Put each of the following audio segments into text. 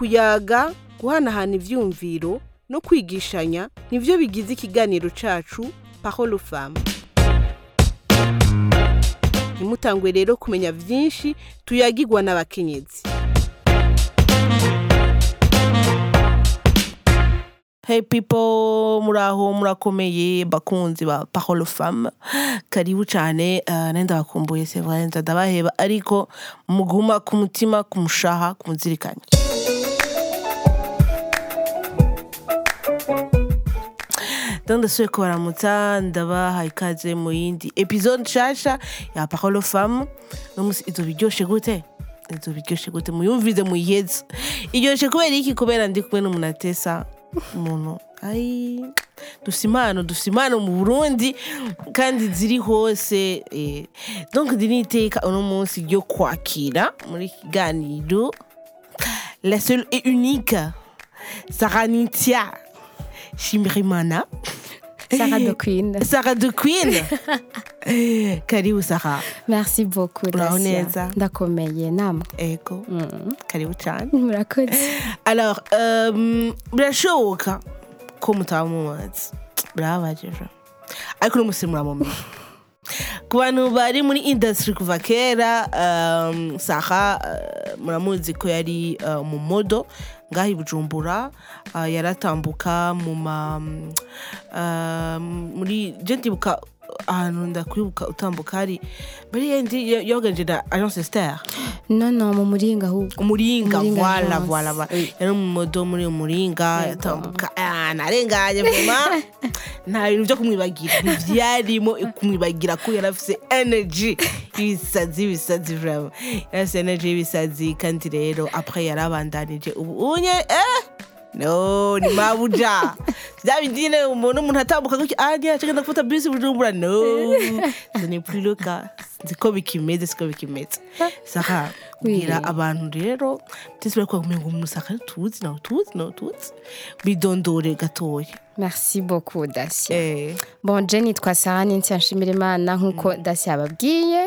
kuyaga guhanahana ivyumviro no kwigishanya nivyo bigize ikiganiro cacu Parole aux femmes. Nimutangwe rero kumenya vyinshi tuyagirwa n'abakenyezi. Hey people, muraho murakomeye bakunzi ba Parole aux femmes. Karibu cyane nenda bakumbuye c'est vrai ndabaheba ariko muguma ku mutima kumushaha kumuzirikanya. Ndasuye ko baramutsa ndabaha ikaze mu yindi episode nshasha ya Parole aux femmes. Nomusi izobiryoshe gute? Izobiryoshe gute muyumvize muyiheze. Iryoshe kubera iki? Kubera ndi kumwe n'umunatesa umuntu dufise impano mu Burundi kandi ziri hose donc diniteka uno munsi ryo kwakira muri kiganiro la seule et unique Sarah Nitia Shimirimana Sarah de Queen. Karibu Sarah. Merci beaucoup. Dacia. Ndakomeye namwe. Ego. Karibu cyane. Murakoze. Alors, birashoboka ko mutamuzi. Brabajeje. Ariko no musimura mu mwe. Ku bantu bari muri industry kuva kera, Sarah muramuzi ko yari mu modo ngahi Bujumbura, yaratambuka mu muri gentibuka ahantu ndakwibuka utambuka hari bari yendi yoganije na Agence Star. Non mu Muringa ahubwo. Umuringa voilà. Yari mu modo muri Umuringa yatambuka narenganye vraiment. Nta bintu byo kumwibagira. Byarimo kumwibagira ko yarafise energy ibisazi vraiment. Yarafise energy ibisazi kandi rero après yarabandanije ubu unye no ni mabuja. Ndabindine umuntu atambuka ko ajya cyangwa gufata bus Bujumbura no. Ce n'est plus le cas. Siko bikimeze. Saka bwira abantu rero tisubira ko kumenga umusaka tuzi bidondore gatoya. Merci beaucoup Dacia. Bon Jenny twa Sarah Nitia Shimirimana nkuko Dacia ababwiye.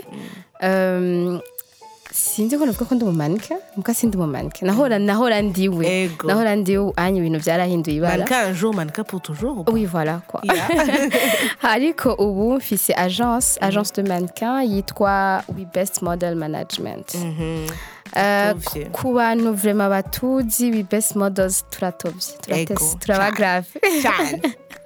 Sinzi ko navuga ko ndi umumanike muka sindi umumanike nahora ndiwe anye ibintu byarahinduye ibara manka pour toujours. Oui voilà quoi. Ariko ubu mfise agence de mannequin yitwa We Best Model Management. Ku bantu vraiment batuzi We Best Models turatobye turabagrave cyane.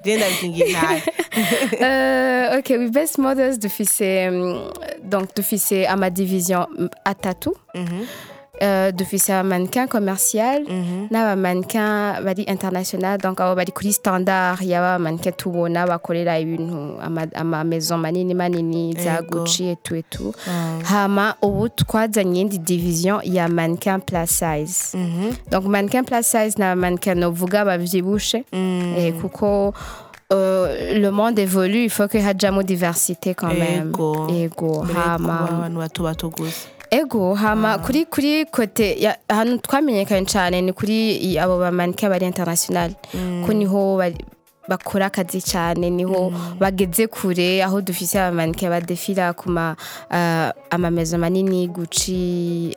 Ok, We Best Models dufise ama division atatu. Dufise ama mannequin commercial n'aba mannequin bari international, donc abo bari kuri standard yaba mannequin tubona bakorera ibintu ama maison manini za Gucci et tout. Hama ubu twazanye indi division ya mannequin plus size. Donc mannequin plus size na mannequin novuga bavyibushe kuko le monde évolue, il faut que hajamo diversité quand même. Ego hama Ego hama kuri kote hano twamenyekanye cyane ni kuri abo ba mannequin bari international ko niho bakora akazi cyane niho bageze kure aho dufise aba mannequin badefila kuma ama maison manini Gucci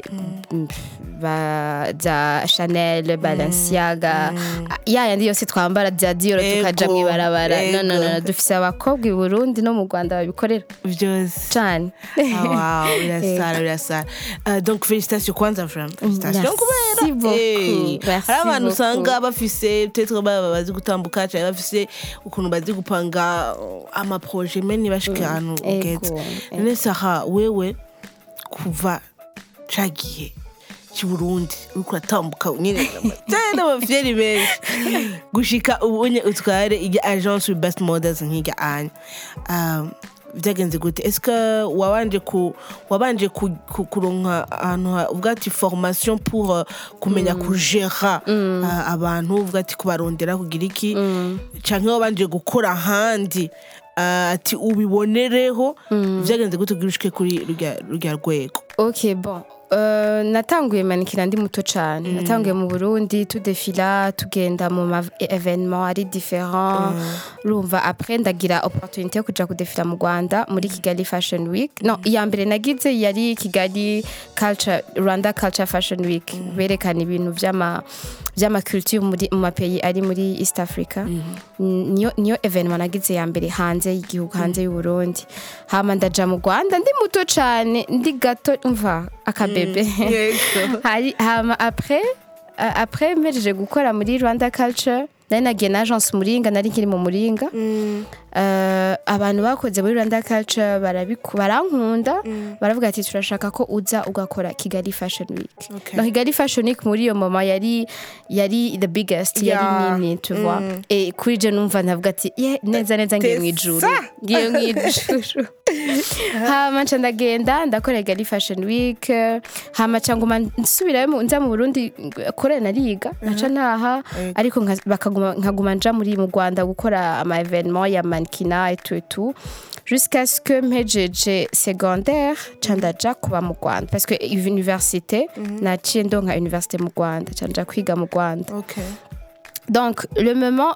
za Chanel Balenciaga yandi yose twambara bya Dior tukaja mwibarabara no dufise abakobwa i Burundi no mu Rwanda babikorera byose cyane. Wow birasara. Donc félicitations kwanza vraiment. Félicitations kubera hari abantu usanga bafise peut-être bazi gutambuka cyane bafise ukuntu bazi gupanga ama projet meni bashika hano ugeze. None Sarah wewe kuva cagiye ci Burundi uko atambuka nyine cyane abafyeri benshi gushika ubunye utware ijya agence We Best Models nk'ijya anya byagenze gute? Est-ce que wabanje kuronka ahantu ubwati formation pour kumenya kugera abantu ubwati kubarondera kugira iki canke wabanje gukora handi ati ubibonereho byagenze gute gushike kuri rya rwego? Ok, bon. Natanguye manikina ndi muto cyane natanguye mu Burundi tudefila tugenda mu ma événement ari différent rumva après ndagira opportunité yo kuja kudefila mu Rwanda muri Kigali Fashion Week no iya mbere nagize yari Kigali Rwanda Culture Fashion Week berekana ibintu vyama culture muri mu mapayi ari muri East Africa niyo événement nagize ya mbere hanze y'igihugu hanze y'u Burundi hama ndaja mu Rwanda ndi muto cyane ndi gato umva akabebe hama après mejeje gukora muri Rwanda Culture nari nagiye na agence Muringa nari nkiri mu Muringa abantu bakoze muri Rwanda Culture barankunda baravuga ati turashaka ko uza ugakora Kigali Fashion Week no Kigali Fashion Week muri iyo mama yari the biggest yari nini tu vois et kuri je numva ndavuga ati neza ngiye mu ijuru hama ndagenda ndakora Kigali Fashion Week hama cyangwa nsubirayo nza mu Burundi kore nariga naca naha ariko nkaguma nja muri mu Rwanda gukora ama événement ya mannequinat et tout jusqu'à ce que mpejeje secondaire candaja kuba mu Rwanda parce que université naciye ndonka université mu Rwanda canja kwiga mu Rwanda donc le moment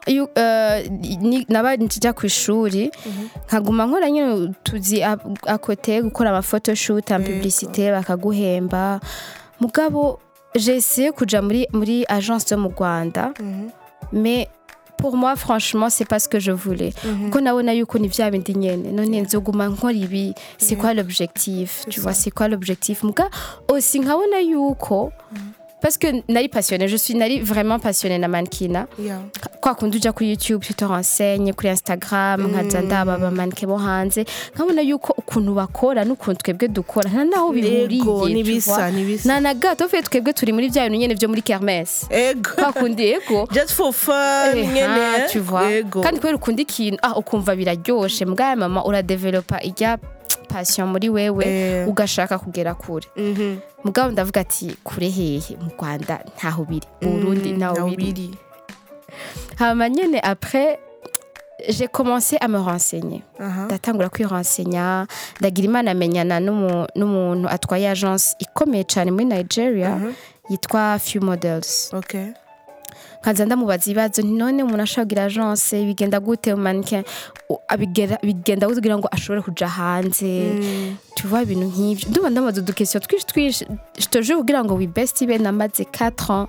naba njya ku ishuri nkaguma nkora nyine tuzi à côté gukora ama photoshoot en publicité bakaguhemba mugabo j'ai essayé kuja muri agence de mu Rwanda mais pour moi franchement c'est pas ce que je voulais ko nabona yuko ni vya bindi nyene none nzoguma nkora ibi c'est quoi l'objectif tu vois c'est quoi l'objectif muga aussi nkabona yuko parce que nari passionnée nari vraiment passionnée na mannequinat kwa kundi uja kuri YouTube tu te renseignes kuri Instagram nkaza ndaba ba mannequin bo hanze nkabona yuko ukuntu bakora n'ukuntu twebwe dukora nta naho bihuriye nibisa na gato fe twebwe turi muri bya bintu nyene byo muri kermesse kwa kundi just for fun nyene tu vois kandi kwera ukundi ikintu ukumva biraryoshe mbwa mama uradevelopa ijya passion muri wewe ugashaka kugera kure mugabo ndavuga ati kure hehe mu Rwanda ntaho biri Burundi ntaho biri hama nyene après j'ai commencé à me renseigner ndatangura kwirenseigner ndagira imana amenyana n'umuntu atwaye agence ikomeye cyane muri Nigeria yitwa Few Models nkaza ndamubaza ibibazo none umuntu ashagira agence bigenda gute mu mannequin bigenda kugira ngo ashobore kuja hanze tu vois ibintu nk'ibyo ndumva ndamaze question twish je te jure kugira ngo we best ibe namaze 4 ans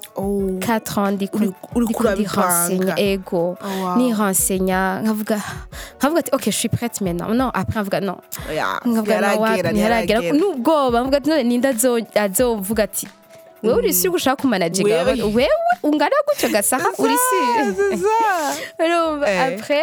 4 ans ndi renseigner ego ni renseigner nkavuga ati OK je suis prête maintenant non après nkavuga non nkavuga n'ubwoba nkavuga ati none ninda azovuga ati wewe uri si gushaka kumanaginga wewe ungana gutyo gasaha uri si après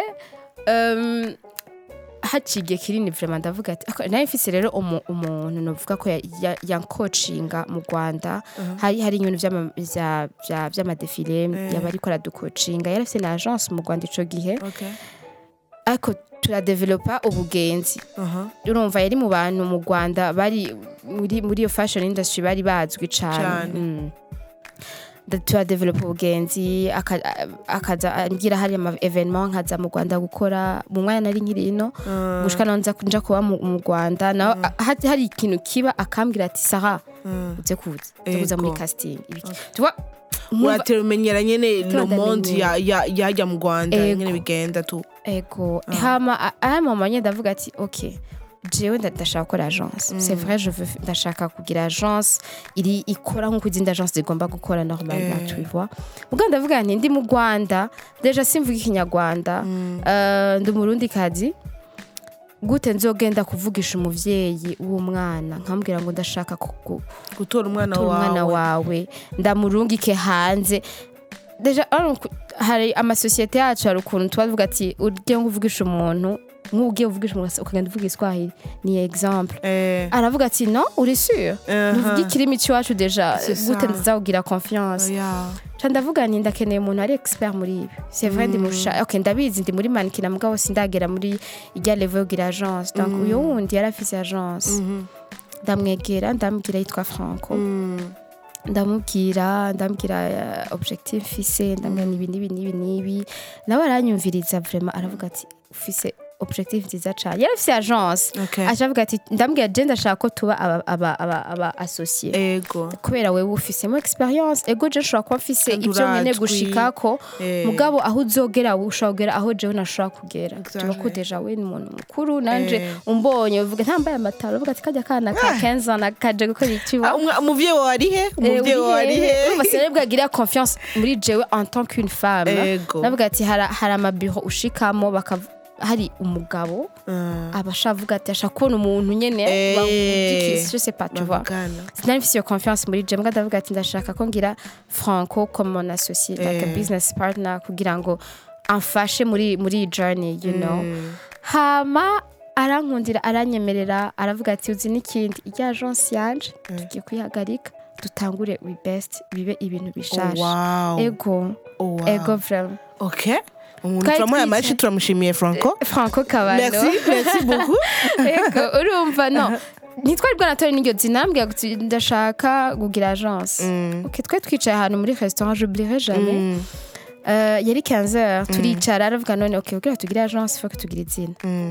haciye kirini vraiment ndavuga ati nayo mfise rero umuntu novuga ko ya coachinga mu Rwanda hari ibintu by'amadefile yabari kora du coachinga yarafise na agence mu Rwanda ico gihe ariko turadevelopa ubugenzi urumva yari mu bantu mu Rwanda bari muri iyo fashion industry bari bazwi cyane turadevelopa ubugenzi akaza ambwira hari ama événement nkaza mu Rwanda gukora mu mwanya nari nkiri ino gushika nonza kunja kuba mu Rwanda naho hari ikintu kiba akambwira ati Sarah uze kuza muri casting tu vois uraterumenyera nyene le monde yajya mu Rwanda nyene bigenda tu ego hama manye ndavuga ati OK jewe ndashaka gukora agence c'est vrai ndashaka kugira agence iri ikora nko kuzindi agence zigomba gukora normalement tu vois muganda ndavuga nti ndi mu Rwanda deja simvuga ikinyarwanda ndi Murundi kazi gute nzogenda kuvugisha umuvyeyi w'umwana nkambwira ngo ndashaka gutora umwana wawe ndamurungike hanze deja hari amasosiyete yacu hari ukuntu twavuga ati uryo nguvugisha umuntu nk'ugiye uvugisha umuntu ukagenda uvuga Iswahili ni exemple aravuga ati non uri sûr uvuga ikirimi cyacu deja gute nzawugira confiance ndavuga nti ndakeneye umuntu ari expert muri ibi c'est vrai ndi musha OK ndabizi ndi muri mannequin mugabo sindagera muri ijya level gira agence donc uyo wundi yarafise agence ndamwegera ndambwira yitwa Franco ndamubwira objectif fise ndamenya nibi nawe aranyumviriza vraiment aravuga ati ufise objectif nziza cyane yari afite agence acavuga ati ndambwira je ndashaka ko tuba aba associé kubera wewe ufisemo experience ego je nshobora kuba mfise ibyo nyene gushikako mugabo aho uzogera ushobora aho jewe nashobora kugera tuba ko deja we ni umuntu mukuru nanje umbonye uvuga ntambaye amataro uvuga ati kajya kana ka 15 ans nakaje gukora ikiwa umuvye warihe umusore bwagira confiance muri jewe en tant qu'une femme navuga ati hari amabureau ushikamo hari umugabo abashavuga ati ashaka kubona umuntu nyene bamudikise je sais pas tu vois sinari mfise confiance muri je mbwa ndavuga ati ndashaka ko ngira Franco comme mon associé like a business partner kugira ngo amfashe muri journey you know hama arankundira aranyemerera aravuga ati uzi n'ikindi ijya agence yanje tugiye kwihagarika dutangure we best bibe ibintu bishasha ego vraiment okay turamuhaye turamushimiye Franco Kabano merci beaucoup ego urumva no nitwari bwanatori n'iryo zinambwira guti ndashaka kugira agence okay twe twicaye ahantu muri restaurant j'oublierai jamais yari 15h turicara aravuga none okay kugira tugire agence faut que tugire izina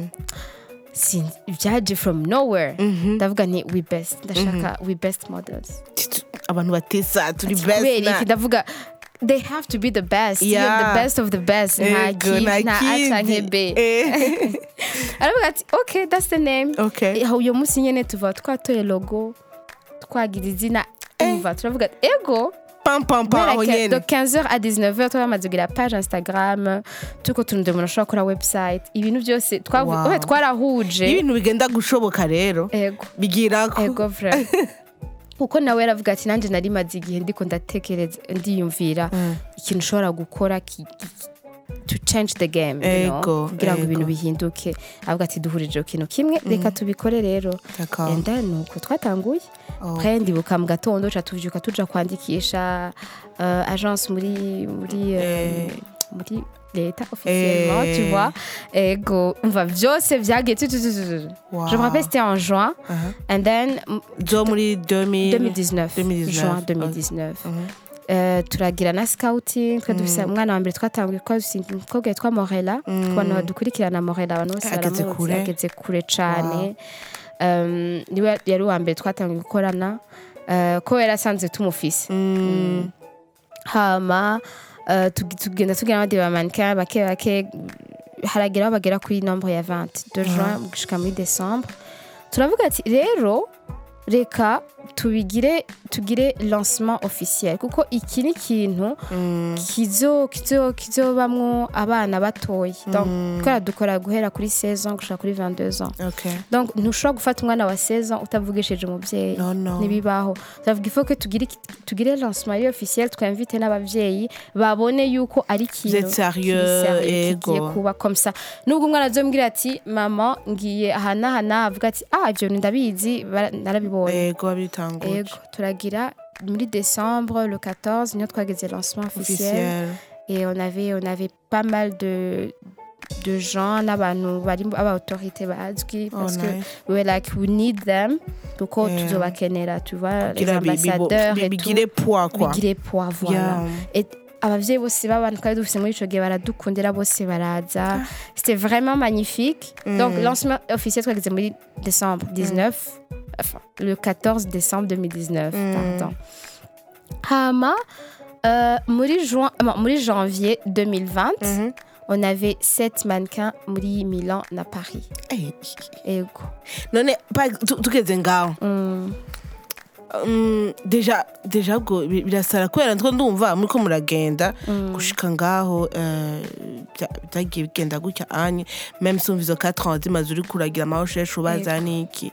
byaje from nowhere ndavuga ni we best ndashaka we best models abantu batesa turi best ndavuga they have to be the best you're the best of the best na atangebe aravuga ati okay that's the name uyo munsi nyene tuva twatoye logo twagira izina umva turavuga ego de 15h à 19h twamaze kugira page Instagram tuko tunde ushobora kora website ibintu byose twarahuje ibintu bigenda gushoboka rero bigirako ego frère uko nawe aravuga ati nanje nari maze igihe ndiko ndatekereza ndiyumvira ikintu ushobora gukora to change the game kugira ngo ibintu bihinduke avuga ati duhurije ikintu kimwe reka tubikore rero and then nuko twatanguye kandi buka mu gatondo tuvyuka tuja kwandikisha agence muri leta officiellement tu vois ego on byose vyagiye je me rappelle c'était en juin and then muri 2019 juin 2019 turagira na scouting twa dufise umwana wa mbere twatanguye ko twa Morella kubana badukurikirana Morella abantu bose barageze kure cyane niwe yari wa mbere twatanguye gukorana ko yarasanze tumufise hama tugenda tugira abandi ba mannequin bake haragira bagera kuri nombre ya 20 de juin gushika muri décembre turavuga ati rero reka tugire lancement officiel kuko iki ni kintu kizobamwo abana batoye donc twara dukora guhera kuri 16 ans gushaka kuri 22 ans donc ntushobora gufata umwana wa 16 ans utavugishije umuvyeyi nibibaho ndavuga ifo ko tugire lancement officiel twinvite n'abavyeyi babone yuko ari kintu sérieux kuba comme ça nubwo umwana azombwira ati mama ngiye hana avuga ati ibyo ndabizi narabibonye bitanguye turagira muri décembre le 14 nous twageze lancement officiel et on avait pas mal de gens n'abantu bari autorité bazwi parce que we like we need them kuko tuzobakenera tu vois les ambassadeurs et bigire poids voilà et abavyeyi bose babantu kandi dufise muri ico gihe baradukundira bose baraza c'était vraiment magnifique donc lancement officiel twageze muri décembre 19 enfin le 14 décembre 2019 pardon hama muri janvier 2020 on avait 7 mannequins muri Milan na Paris ego none tugeze ngaho deja bwo birasara kubera ntwo ndumva muri ko muragenda gushika ngaho byagiye bigenda gutya anye même si izo 4 ans zimaze uri kuragira amahosheje ubaza niki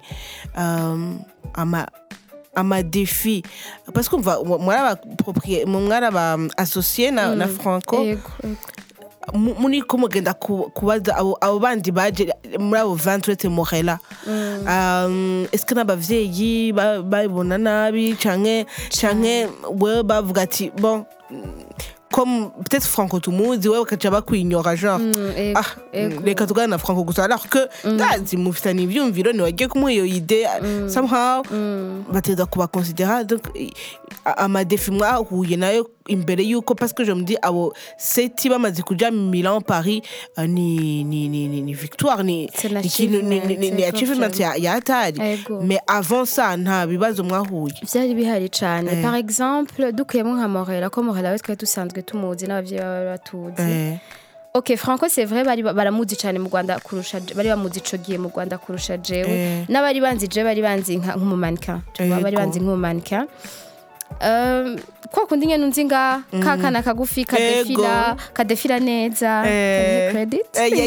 ama défi parce qu'on va mwara associé na Franco muni ko mugenda kubaza abo bandi baje muri abo 20 Morella est-ce que n'abavyeyi babona nabi canke we bavuga ati bon comme peut-être Franco tumuzi wewe ukaca bakwinyora genre reka tugana na Franco gusa alors que ndazi mufitanye ivyumviro niwagiye kumuha iyo idée somehow bateza kuba considérer donc amadefi mwahuye nayo imbere yuko parce que je me dis abo seti bamaze kuja Milan Paris ni victoire ni achievement ya hatari mais avant ça nta bibazo mwahuye byari bihari cyane par exemple dukuyemo nka Morela ko Morela we twari dusanzwe tumuzi n'abavyeyi batuzi Ok, Franco c'est vrai baramuzi cyane mu Rwanda kurusha bari bamuzi ico gihe mu Rwanda kurusha jewe n'abari banzi je bari banzi nk'umumannequin bari banzi nk'umumannequin kwa kundi nyene nunzinga kakana kagufi kadefila neza credit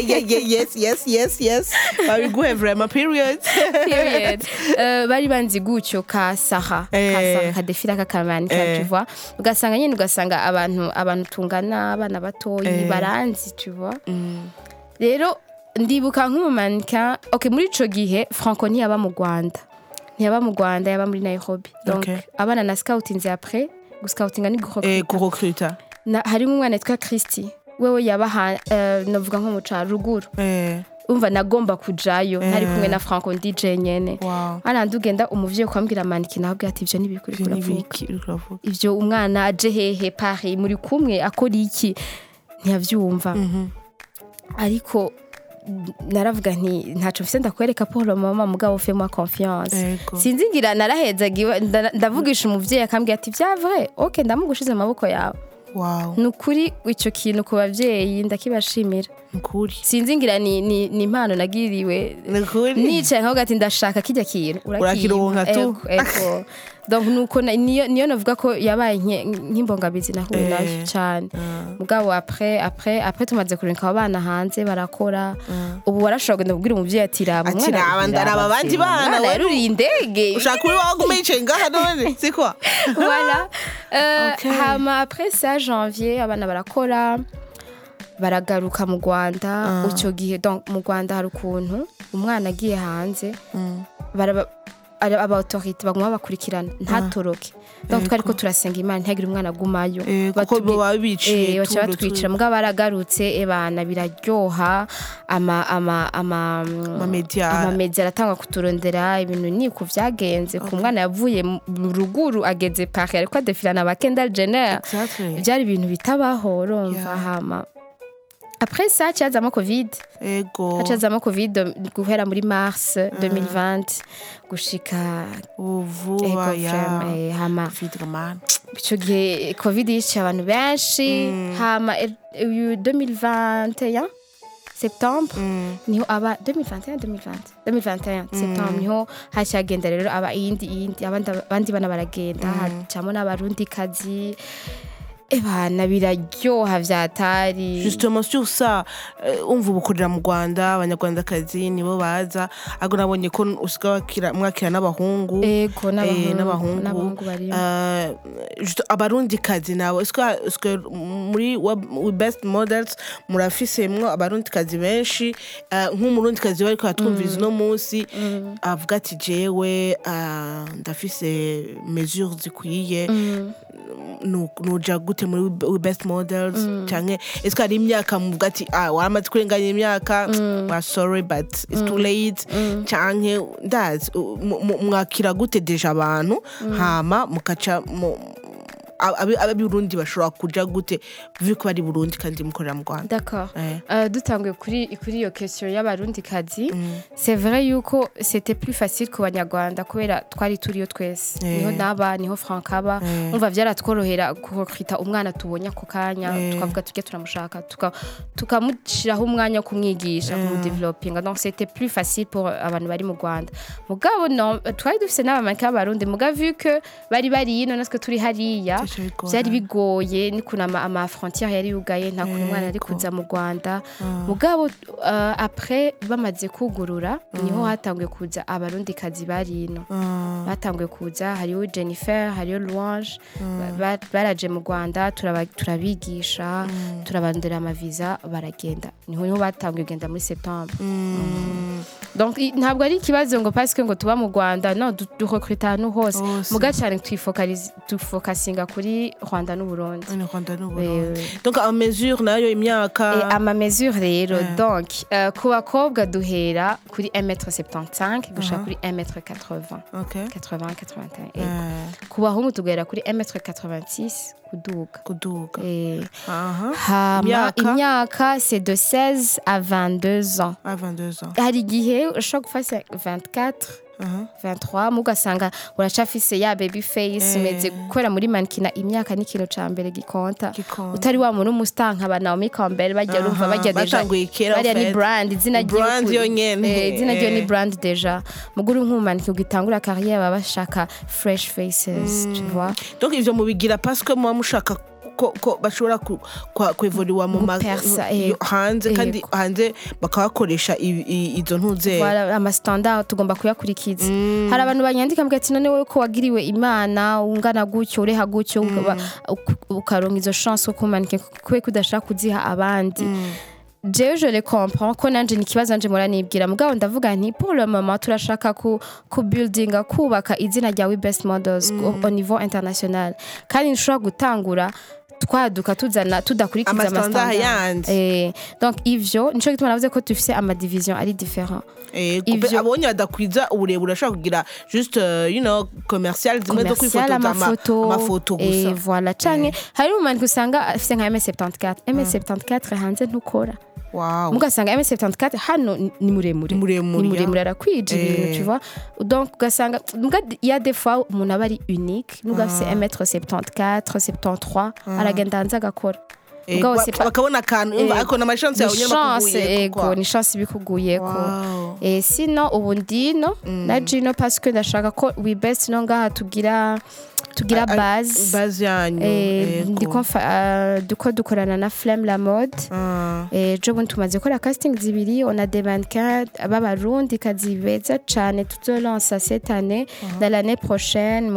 yes bari guhe vraiment period bari banzi gutyo ka Sara kadefila kakamannequin tu vois ugasanga abantu tungana abana batoyi baranzi tu vois rero ndibuka nk'umumannequin ok muri ico gihe Franco ntiyaba mu Rwanda yaba muri Nairobi donc abana na scouting après scouting ni gurecruta hari umwana yitwa Christy wewe yaba novuga nko mu ca ruguru umva nagomba kujayo ntari kumwe na Franco DJ nyene arandugenda umuvyeyi kwambwira maniki nabwo ati ivyo nibikuri kuravuga ivyo umwana aje hehe Paris muri kumwe akora iki ntiyavyumva ariko naravuga nti ntaco mfise ndakwereka Paul mama mugabo fais-moi confiance sinzingira narahezagiwe ndavugisha umuvyeyi akambwira ati vya vrai ok ndamugushize mu maboko yawe nukuri ico kintu ku bavyeyi ndakibashimira nukuri sinzingira ni impano nagiriwe nicaye nkaho gati ndashaka kijya kintu urakironka tu donc nuko niyo navuga ko yabaye nk'imbongabizi nahuye nayo cyane mugabo après tumaze kurinka abana hanze barakora ubu warashobora kugenda kubwira umuvyeyi ati raba ndaraba abandi bana waruri indege ushaka uri wagumice ngaha none siko voilà hama après ça janvier abana barakora baragaruka mu Rwanda ucyo gihe donc mu Rwanda hari ukuntu umwana agiye hanze aba autorité baguma bakurikirana ntatoroke donc twariko turasenga Imana ntagire umwana gumayo kuko babiciye batwicira mugabo baragarutse ebana biraryoha ama media aratanga kuturondera ibintu ni ku vyagenze ku mwana yavuye mu ruguru ageze Paris ariko adefilana ba Kendall Jenner byari ibintu bitabaho urumva hama Après ça, tu as eu Covid. Tu as eu Covid guhera muri mars 2020 gushika vuba ya hama ico gihe Covid yica abantu benshi hama 2021 septembre niho aba 2021 septembre niho hashagenda rero aba indi abandi bana baragenda hacamo n'abarundi kazi ebana biraryoha vyatari justement sur ça umva ubukorera mu Rwanda abanyarwandakazi nibo baza ago nabonye ko usiga mwakira n'abahungu n'abahungu bari abarundi kazi nabo eske muri we best models murafisemwo abarundi kazi benshi nk'umurundi kazi bari ko atwumviriza no munsi avuga ati jewe ndafise mesures zikwiye nuja gute muri best models canke eske ari imyaka muvuga ati waramaze kurenganya imyaka sorry but it's too late canke ndazi mwakira gute deja abantu hama mukaca ababirundi bashobora kuja gute vuko bari Burundi kandi mukorera mu Rwanda d'accord dutanguye kuri iyo question y'abarundi kazi c'est vrai yuko c'était plus facile ku banyarwanda kubera twari turiyo twese niho Frankaba umva vyaratworohera kukwita umwana tubonye ako kanya tukavuga tujye turamushaka tukamushiraho umwanya kumwigisha mu developing donc c'était plus facile pour abantu bari mu Rwanda mugabo non twari dufise n'abamanka b'abarundi mugabo vu que bari ino natwe turi hariya byari bigoye ni kuna ama frontière yari yugaye nta kuntu umwana ari kuza mu Rwanda mugabo après bamaze kugurura niho hatanguye kuza abarundi kazi bari ino batanguye kuza hariyo Jennifer hariyo Louange baraje mu Rwanda turabigisha turabandera ama visa baragenda niho batanguye kugenda muri septembre donc ntabwo ari ikibazo ngo parce que ngo tuba mu Rwanda no du recruter no hose muga cyane twifokasinga kuri Rwanda n'Uburundi. Donc ama mesure nayo imyaka ama mesure rero donc ku bakobwa duhera kuri 1m75 gushaka kuri 1m80 80-81 ku bahungu tugera kuri 1m86 kuduga imyaka c'est de 16 à 22 ans hari igihe ushobora gufata 24 23 mugasanga uracafise ya baby face meze gukora muri mankina imyaka n'ikiro ca mbere gikonta utari wa muntu mustanka ba Naomi Campbell bajya rumva bajya deja bari ni brand izina ryo ni brand deja muguru nk'umanika ugitangura carrière baba bashaka fresh faces tu vois donc ivyo mubigira parce que moi mushaka ko bashobora kwevoliwa mu hanze kandi hanze bakabakoresha izo ntuze ama standard tugomba kuyakurikiza hari abantu banyandika mbwa ati none wowe ko wagiriwe imana ungana gutyo ureha gutyo ukaronka izo chance ko kumanika kwe kudashaka kuziha abandi je le comprends ko nanje nikibazo nanje muranibwira mugabo ndavuga nti pour le moment turashaka ku buildinga kubaka izina rya We Best Models au niveau international kandi nshobora gutangura twaduka tuzana tudakurikiza amastandard donc ivyo nico gituma navuze ko tufise ama division ari différent ivyo abonye adakwiza uburebure ashaka kugira juste commercial zimwe zo kwifotoza amafoto gusa voilà canke hari umuntu usanga afise nka M74 hanze ntukora wow mugasanga M74 hano ni muremure arakwije ibintu tu vois donc ugasanga il y a des fois umuntu aba ari unique mugafise 1m74 73 aragenda hanze agakora bakabona akantu ako na chance yawe ni chance bikuguyeko sinon ubu ndino na Gino parce que ndashaka ko We Best no ngaha tugira base yanyu duko dukorana na Flemme la mode je bundi tumaze gukora casting zibiri on a des mannequins b'abarundi kazibeza cyane tuzolansa cette année dans l'année prochaine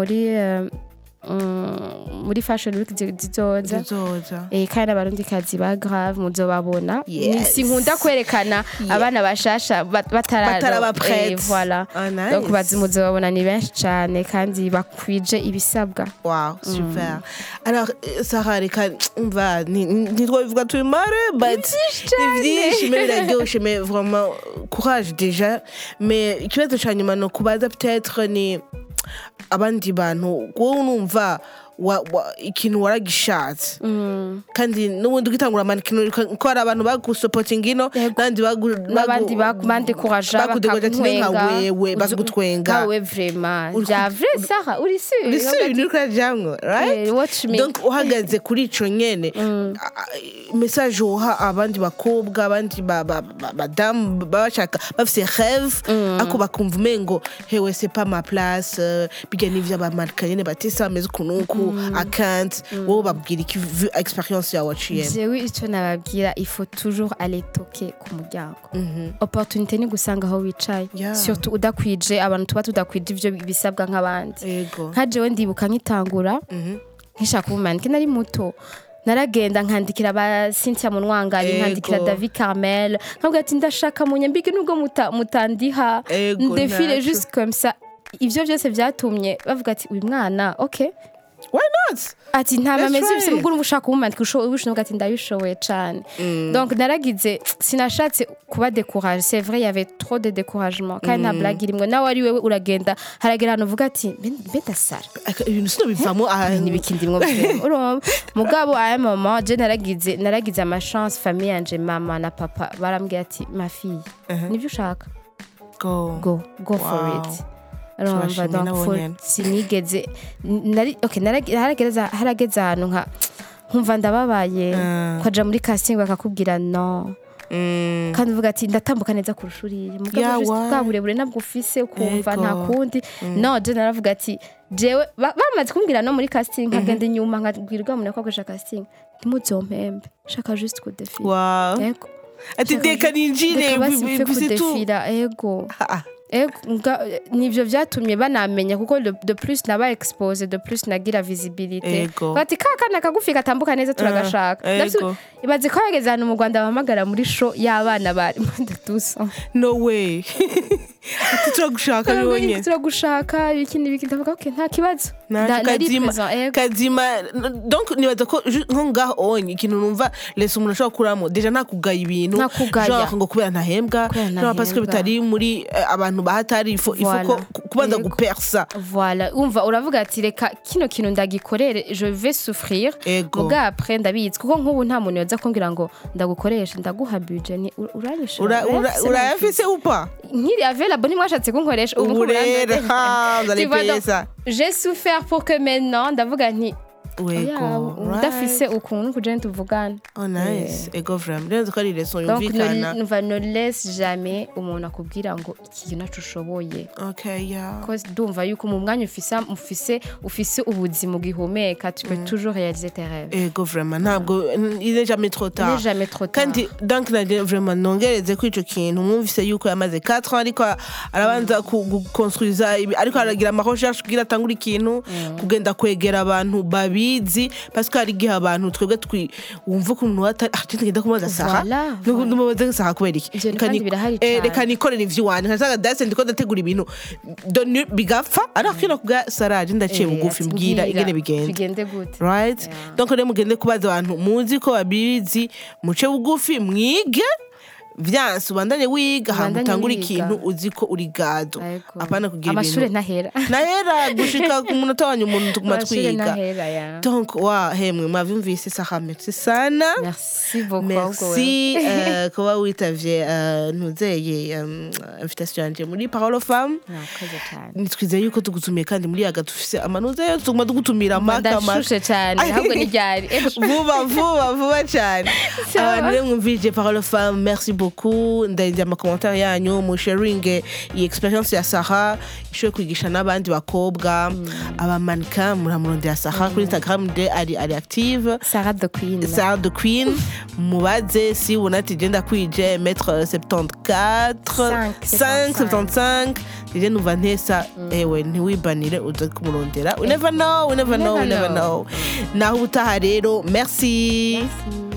muri fashion week zizoza kandi abarundi kazi ba grave muzobabona sinkunda kwerekana abana bashasha bataraba voilà donc muzobabona ni benshi cyane kandi bakwije ibisabwa wow super alors Sarah reka umva ntitwabivuga tumare but ivyinshi biraryoshe mais vraiment courage déjà mais ikibazo cyanyuma no kubaza peut-être ni abandi bantu wowe numva ikintu waragishatse kandi n'ubundi ugitangura manikino ko hari abantu bagusupporting ino n'abandi bandekuraja bakagutwenga wewe vraiment ja vrai Sarah uri sûr ni ko jamwe right donc uhagaze kuri ico nyene message uha abandi bakobwa abandi madame bashaka bafise rêve ako bakumva mengo hewe c'est pas ma place bijya n'ivya bamarikanye batisa meze kunuku account wowe babwira iki experience yawe waciye jewe ico nababwira il faut toujours aller toquer ku muryango opportunité ni gusanga aho wicaye surtout udakwije abantu tuba tudakwije ivyo bisabwa nk'abandi nka jewe ndibuka nkitangura nkishaka ubumanike nari muto naragenda nkandikira ba Cynthia Munwangari nkandikira David Carmel nkabwira ati ndashaka munyambike nubwo mutandiha ndefile juste comme ça ivyo byose vyatumye bavuga ati uyu mwana okay why not ati nta mameze bise muguru mushaka ubumanike ubushoboye ati ndabishoboye cyane donc naragize sinashatse kuba découragé c'est vrai il y avait trop de découragement kandi nta blague irimwe nawe ari wewe uragenda haragera hano uvuga ati beta sara ibintu sino bivamo n'ibikindimwe urumva mugabo aya mama je naragize ama chance famille yanje mama na papa barambwiye ati ma fille nibyo ushaka go for it urumva donc sinigeze harageze ahantu nkumva ndababaye kwaja muri casting bakakubwira no kandi uvuga ati ndatambuka neza kurusha uriye mugabo bwa burebure nabwo ufise ukumva nta kundi no je naravuga ati jewe bamaze kumbwira no muri casting nkagenda inyuma nkabwirwa umuntu ko akoresha casting ntimuzompembe shaka juste ku défi yego ati deka ninjire bise tout yego nivyo vyatumye banamenya kuko de plus naba expose de plus nagira visibilité bati kakana kagufi gatambuka neza turagashaka ibaze ko yageze hano mu Rwanda bahamagara muri show y'abana bari ndatusa no way turagushaka bibonye turagushaka ikindi ndavuga okay nta kibazo kazima donc nibaza ko nko ngaho onye ikintu numva lesa umuntu ashobora kuramo deja ntakugaya ibintu genre ngo kubera ntahembwa no parce que bitari muri abantu bahatari ifo kubanza gupersa voilà umva uravuga ati reka kino kintu ndagikorere je vais souffrir muga après ndabizi kuko nk'ubu nta muntu yoza kumbwira ngo ndagukoresha ndaguha budget ni urabishora urayafise upa nkiri available ni mwashatse kunkoresha ubu pesa j'ai souffert pour que maintenant ndavuga nti udafise ukuntu kugenda tuvugana nice ego vraiment rero ko ari leçon yumvikana donc ne laisse jamais umuntu akubwira ngo iki kintu acushoboye cause ndumva yuko mu mwanya ufise ubuzima bwihumeka tu peux toujours réaliser tes rêves ego vraiment ntabwo il est jamais trop tard kandi donc naje vraiment nongereze ko ico kintu mwumvise yuko yamaze 4 ans ariko arabanza construire ariko aragira ama recherche kugira atangura ikintu kugenda kwegera abantu babi parce que hari gihe abantu twebwe wumva ukuntu atagenda kumaza saha n'umubaza saha kubera iki reka nikorera ivyo wanje nkasaga dase ndiko ndategura ibintu bigapfa arakira kuga saraje ndaciye bugufi mbwira igene bigende gute right donc rero mugende kubaza abantu muzi ko babizi muce bugufi mwige vyanse ubandanye wiga hamutangura ikintu uzi ko uri gado apana kugira ibintu amashure ntahera gushika ku munota wanyu umuntu tukumatwiga donc hemwe mwavyumvise Sarah merci sana merci beaucoup merci kuba witavye ntuzeye invitation yanje muri Parole aux Femmes nitwize yuko tugutumiye kandi muri yaga tufise amanuze yo tuguma tugutumira ndashushe cyane ahubwo ni ryari vuba cyane abantu mwumvije Parole aux Femmes merci beaucoup ndajya mu commentaire yanyu mu sharing iyi experience ya Sarah ishoye kwigisha n'abandi bakobwa aba mannequin muramurondera Sarah kuri Instagram de ari active Sarah the Queen mubaze si unati genda kwije mettre 75 je numva ntesa ewe ntiwibanire uza kumurondera we never know naho utaha rero merci